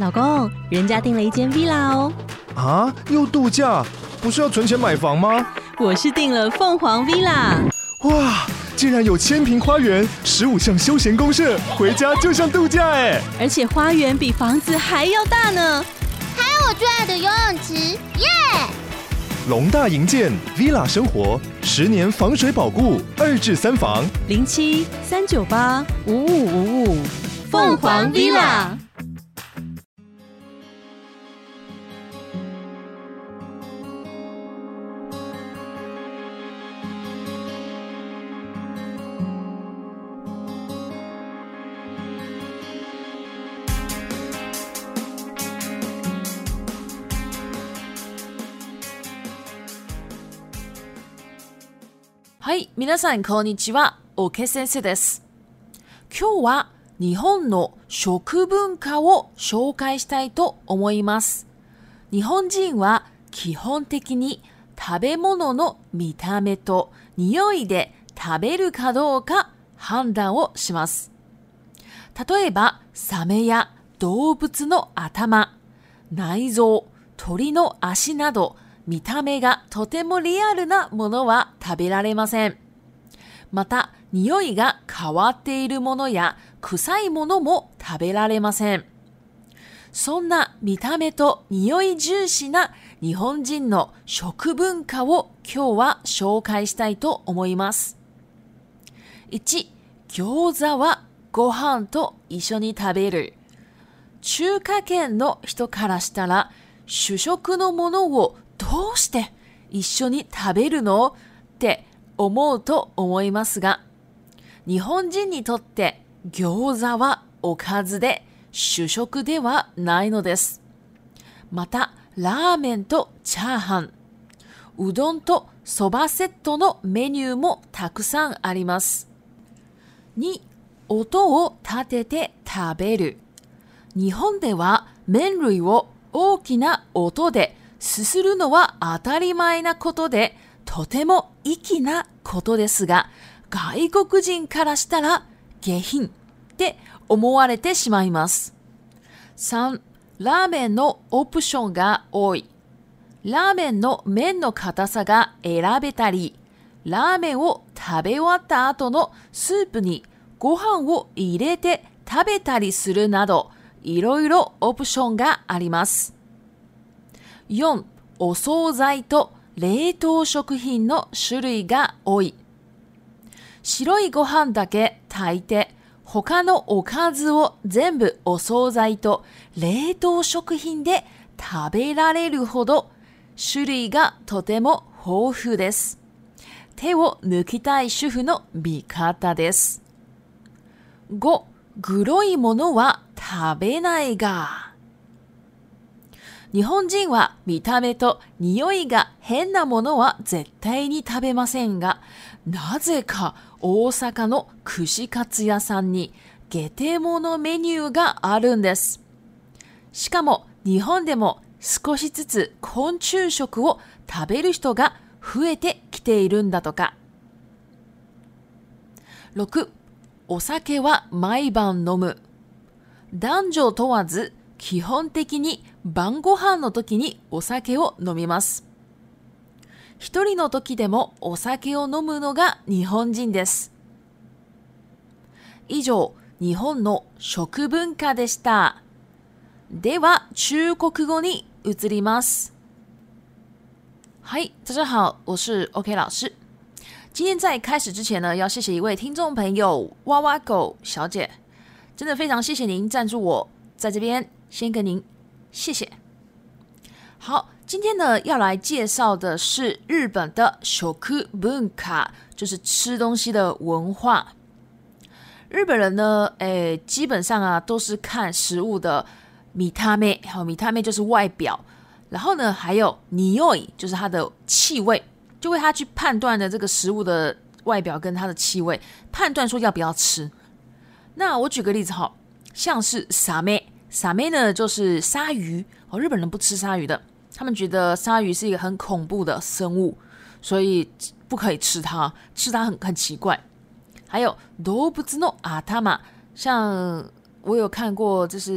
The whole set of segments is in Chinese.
老公，人家订了一间 villa 哦。 啊，又度假？不是要存钱买房吗？ 我是订了凤凰 villa。 哇，竟然有1000坪花园，15项休闲公社，回家就像度假哎！ 而且花园比房子还要大呢。 还有我最爱的游泳池，耶！ 龙大营建 villa 生活，10年防水保固，2至3房 07-398-5555，凤凰 villa。 はい、皆さんこんにちは、OK先生です。今日は日本の食文化を紹介したいと思います。日本人は基本的に食べ物の見た目と匂いで食べるかどうか判断をします。例えば、サメや動物の頭、内臓、鳥の足など、見た目がとてもリアルなものは食べられません。また、匂いが変わっているものや臭いものも食べられません。そんな見た目と匂い重視な日本人の食文化を今日は紹介したいと思います。1、餃子はご飯と一緒に食べる。中華圏の人からしたら主食のものをどうして一緒に食べるのって思うと思いますが、日本人にとって餃子はおかずで主食ではないのです。また、ラーメンとチャーハン、うどんとそばセットのメニューもたくさんあります。2、音を立てて食べる。日本では麺類を大きな音ですするのは当たり前なことで、とても粋なことですが、外国人からしたら下品って思われてしまいます。3、ラーメンのオプションが多い。ラーメンの麺の硬さが選べたり、ラーメンを食べ終わった後のスープにご飯を入れて食べたりするなど、いろいろオプションがあります。4、お惣菜と冷凍食品の種類が多い。白いご飯だけ炊いて、他のおかずを全部お惣菜と冷凍食品で食べられるほど、種類がとても豊富です。手を抜きたい主婦の味方です。5、グロいものは食べないが。日本人は見た目と匂いが変なものは絶対に食べませんが、なぜか大阪の串カツ屋さんに下手物メニューがあるんです。しかも日本でも少しずつ昆虫食を食べる人が増えてきているんだとか。6、お酒は毎晩飲む。男女問わず基本的に晩ご飯の時にお酒を飲みます。一人の時でもお酒を飲むのが日本人です。以上、日本の食文化でした。では、中国語に移ります。嗨，大家好，我是 OK 老师。今天在开始之前呢，要谢谢一位听众朋友哇哇狗小姐，真的非常谢谢您赞助我，在这边先跟您谢谢。好，今天呢要来介绍的是日本的食文化，就是吃东西的文化。日本人呢，基本上啊都是看食物的見た目，見た目就是外表，然后呢还有匂い，就是它的气味，就为他去判断的这个食物的外表跟它的气味，判断说要不要吃。那我举个例子哈，像是サメ。サメ呢就是鲨鱼哦，日本人不吃鲨鱼的，他们觉得鲨鱼是一个很恐怖的生物，所以不可以吃它，吃它很奇怪。还有動物の頭，像我有看过，就是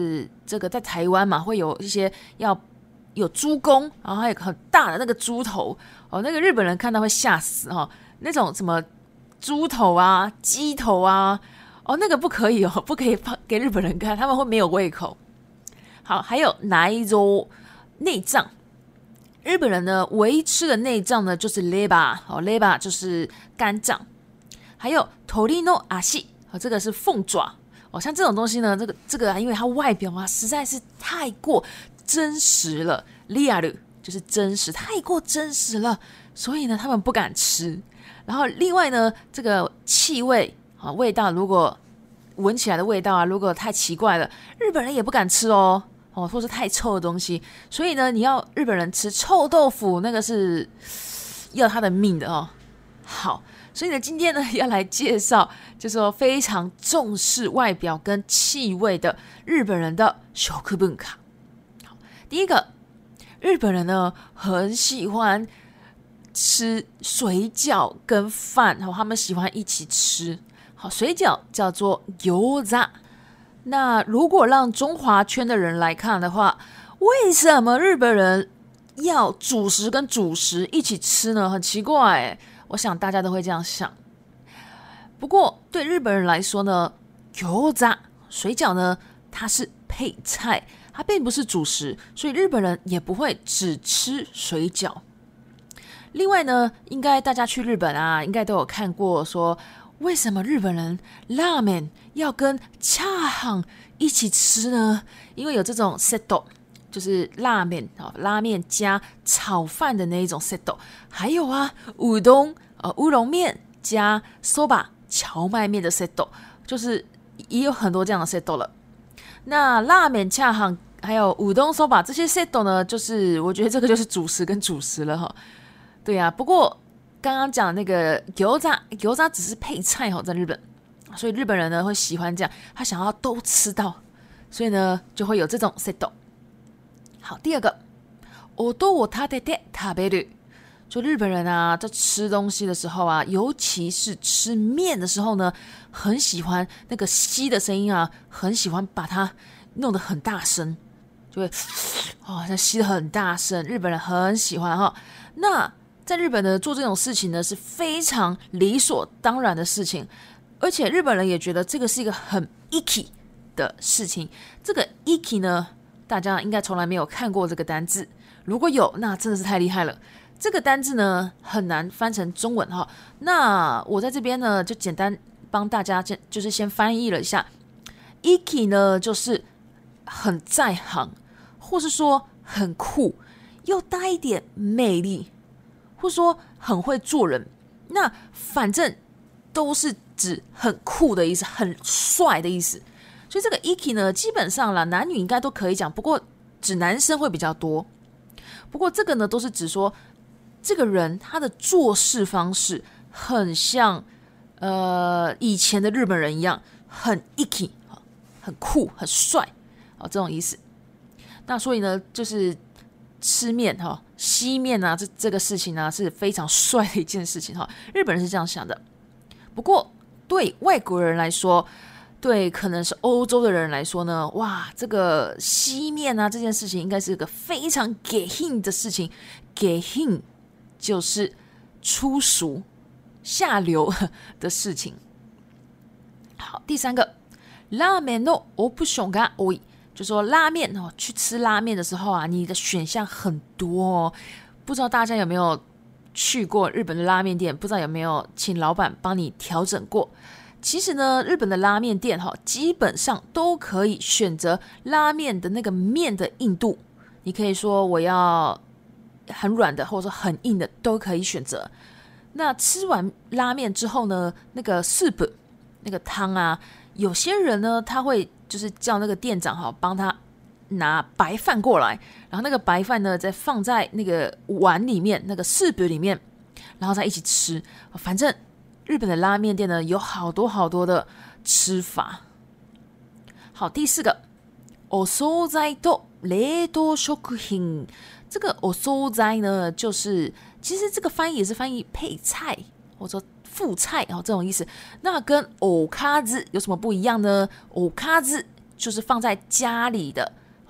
这个在台湾嘛，会有一些要有猪公，然后还有很大的那个猪头哦，那个日本人看到会吓死哦，那种什么猪头啊、鸡头啊，哦，那个不可以哦，不可以给日本人看，他们会没有胃口。好，还有内臓内脏，日本人呢唯一吃的内脏呢就是 leber 哦 ，leber 就是肝脏，还有鳥の足哦，这个是凤爪哦，像这种东西呢，这个因为它外表啊实在是太过真实了，リアル就是真实，太过真实了，所以呢他们不敢吃。然后另外呢，这个气味啊，味道如果闻起来的味道啊，如果太奇怪了，日本人也不敢吃哦，或是太臭的东西。所以呢，你要日本人吃臭豆腐，那个是要他的命的哦。好，所以呢，今天呢要来介绍，就是说非常重视外表跟气味的日本人的食文化。好，第一个，日本人呢很喜欢吃水饺跟饭，他们喜欢一起吃。好，水饺叫做餃子。那如果让中华圈的人来看的话，为什么日本人要主食跟主食一起吃呢？很奇怪耶，我想大家都会这样想。不过对日本人来说呢，餃子水饺呢，它是配菜，它并不是主食，所以日本人也不会只吃水饺。另外呢，应该大家去日本啊，应该都有看过说，为什么日本人拉面要跟チャーハン一起吃呢？因为有这种 set， 就是拉面拉面加炒饭的那一种 set， 还有啊乌冬乌龙面加 soba 荞麦面的 set， 就是也有很多这样的 set 了。那拉面、チャーハン还有乌冬 soba 这些 set 呢，就是我觉得这个就是主食跟主食了哈。对啊，不过刚刚讲那个餃子只是配菜在日本，所以日本人呢会喜欢这样，他想要都吃到，所以呢就会有这种 set。好，第二个，音を立てて食べる，就日本人啊在吃东西的时候啊，尤其是吃面的时候呢，很喜欢那个吸的声音啊，很喜欢把它弄得很大声，就会吸得很大声，日本人很喜欢哈。那在日本呢，做这种事情呢是非常理所当然的事情，而且日本人也觉得这个是一个很 icky 的事情。这个 icky 呢，大家应该从来没有看过这个单字，如果有，那真的是太厉害了。这个单字呢很难翻成中文哈，那我在这边呢就简单帮大家就是先翻译了一下。icky 呢就是很在行，或是说很酷，又带一点魅力。或说很会做人，那反正都是指很酷的意思，很帅的意思。所以这个 icky 呢，基本上啦，男女应该都可以讲，不过指男生会比较多。不过这个呢，都是指说这个人他的做事方式很像以前的日本人一样，很 icky， 很酷，很帅这种意思。那所以呢，就是吃面吸面啊，这个事情啊是非常帅的一件事情日本人是这样想的。不过对外国人来说，对可能是欧洲的人来说呢，哇，这个吸面啊这件事情应该是一个非常下品的事情。下品就是粗俗下流的事情。好，第三个，ラーメンのオプションが多い。就说拉面去吃拉面的时候啊，你的选项很多哦。不知道大家有没有去过日本的拉面店，不知道有没有请老板帮你调整过。其实呢，日本的拉面店基本上都可以选择拉面的那个面的硬度，你可以说我要很软的，或者说很硬的都可以选择。那吃完拉面之后呢，那个 soup 那个汤啊，有些人呢他会就是叫那个店长帮他拿白饭过来，然后那个白饭呢再放在那个碗里面，那个soup里面，然后再一起吃。反正日本的拉面店呢有好多好多的吃法。好，第四个，お惣菜と冷凍食品。这个お惣菜呢，就是其实这个翻译也是翻译配菜或者副菜这种意思。那跟おかず有什么不一样呢？おかず就是放在家里的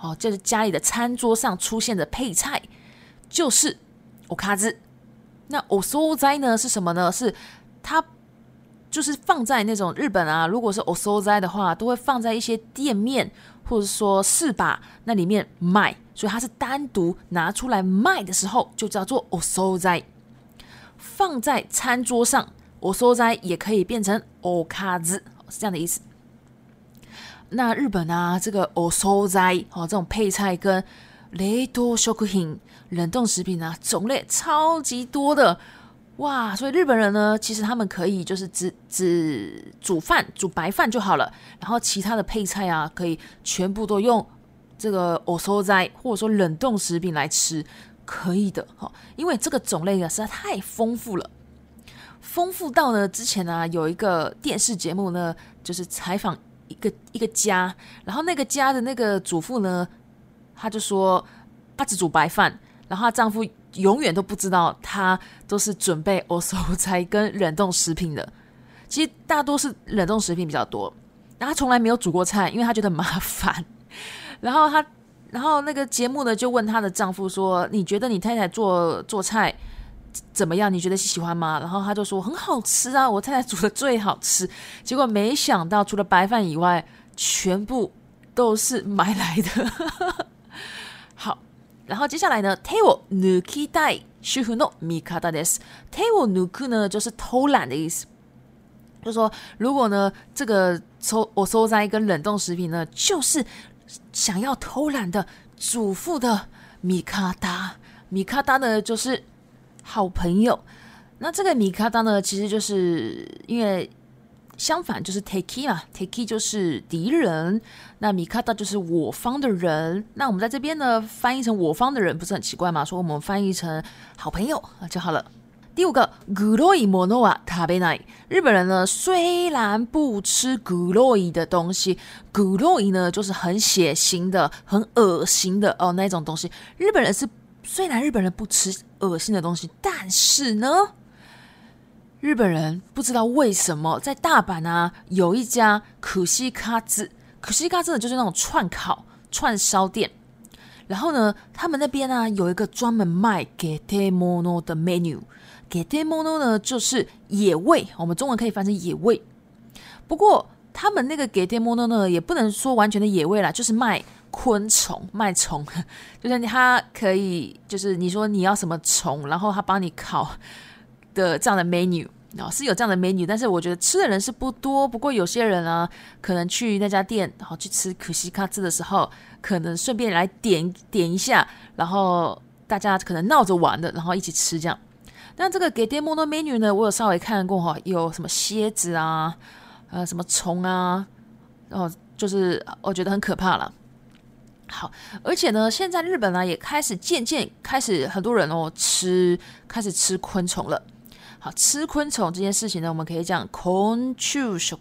就是家里的餐桌上出现的配菜就是おかず。那お惣菜呢是什么呢？是它就是放在那种日本啊，如果是お惣菜的话，都会放在一些店面或者说市場那里面卖，所以它是单独拿出来卖的时候就叫做お惣菜。放在餐桌上，お惣菜也可以变成おかず，是这样的意思。那日本啊，这个お惣菜这种配菜跟冷凍食品冷冻食品啊，种类超级多的哇！所以日本人呢，其实他们可以就是只煮饭煮白饭就好了，然后其他的配菜啊，可以全部都用这个お惣菜或者说冷冻食品来吃，可以的因为这个种类啊实在太丰富了，丰富到呢之前啊有一个电视节目呢，就是采访一个家，然后那个家的那个主妇呢，她就说她只煮白饭，然后她丈夫永远都不知道她都是准备お惣菜跟冷冻食品的。其实大多是冷冻食品比较多，然后她从来没有煮过菜，因为她觉得很麻烦。然后那个节目呢就问她的丈夫说：“你觉得你太太做菜怎么样？你觉得喜欢吗？”然后她就说：“很好吃啊，我太太煮的最好吃。”结果没想到，除了白饭以外，全部都是买来的。好，然后接下来呢，手を抜きたい主婦の味方です。手を抜く呢，就是偷懒的意思。就是說如果呢，这个お惣菜跟冷冻食品呢，就是想要偷懒的主妇的味方。味方呢，就是好朋友。那这个味方呢，其实就是因为相反就是 敵 嘛 敵 就是敌人，那味方就是我方的人。那我们在这边呢翻译成我方的人不是很奇怪吗？所以我们翻译成好朋友就好了。第五个黒いものは食べない。日本人呢虽然不吃黒い的东西，黒い呢就是很血腥的很恶心的那种东西。虽然日本人不吃恶心的东西，但是呢日本人不知道为什么在大阪啊有一家可西卡子就是那种串烧店，然后呢他们那边啊有一个专门卖ゲテモノ的 menu。 ゲテモノ呢就是野味，我们中文可以翻成野味。不过他们那个ゲテモノ呢也不能说完全的野味啦，就是卖昆虫卖虫，就是他可以就是你说你要什么虫，然后他帮你烤的这样的 menu。是有这样的 menu， 但是我觉得吃的人是不多。不过有些人啊，可能去那家店去吃可西卡兹的时候，可能顺便来点一下，然后大家可能闹着玩的，然后一起吃这样。那这个ゲテモノ menu 呢，我有稍微看过有什么蝎子啊，什么虫啊，就是我觉得很可怕了。好，而且呢，现在日本也渐渐开始很多人开始吃昆虫了。好，吃昆虫这件事情呢，我们可以讲昆虫食。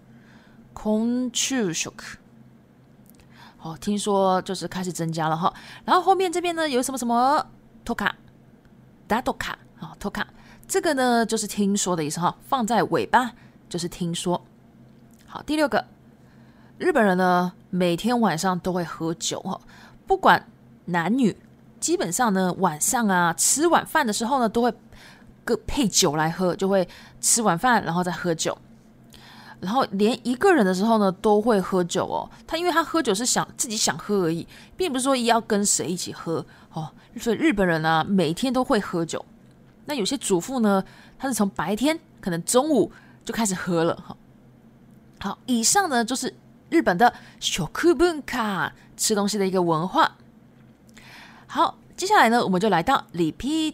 好，听说就是开始增加了哈。然后后面这边呢有什么トカダトカトカ，这个呢就是听说的意思哈，放在尾巴就是听说。好，第六个，日本人呢每天晚上都会喝酒哈，不管男女，基本上呢晚上啊吃晚饭的时候呢都会配酒来喝，就会吃晚饭然后再喝酒，然后连一个人的时候呢都会喝酒因为他喝酒是自己想喝而已，并不是说要跟谁一起喝所以日本人啊每天都会喝酒。那有些主妇呢，他是从白天可能中午就开始喝了好，以上呢就是日本的食文化，吃东西的一个文化。好，接下来呢我们就来到 repeat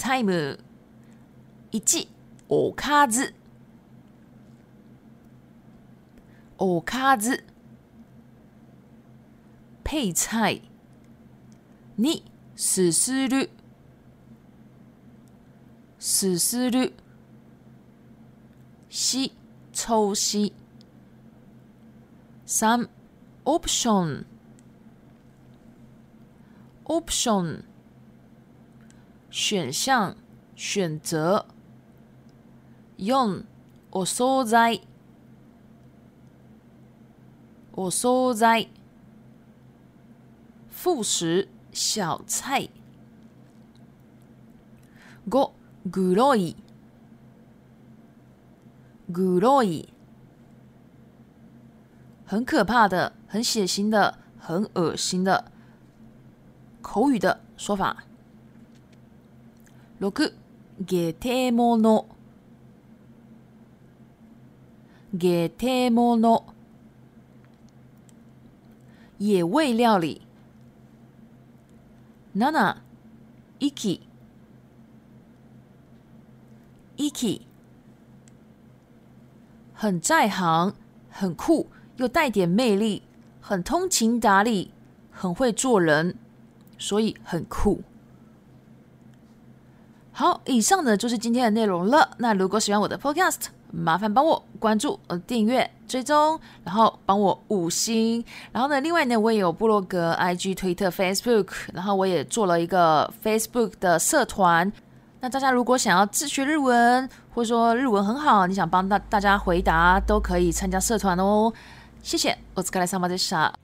time。1、おかず。おかず。配菜。2、すする。すする。4、抽吸。3、オプション。オプション。选项、选择。4、お惣菜。お惣菜。 副食小菜。5、黒い黒い，很可怕的，很血腥的，很恶心的。口语的说法。6、ゲテモノゲテモノ，野味料理。7、息息，很在行，很酷，又带点魅力，很通情达理，很会做人，所以很酷。好，以上呢就是今天的内容了。那如果喜欢我的 podcast， 麻烦帮我关注、订阅、追踪，然后帮我5星。然后呢，另外呢，我也有部落格、IG、推特、Facebook， 然后我也做了一个 Facebook 的社团。那大家如果想要自学日文，或者说日文很好，你想帮大家回答，都可以参加社团哦。谢谢，お疲れ様でした。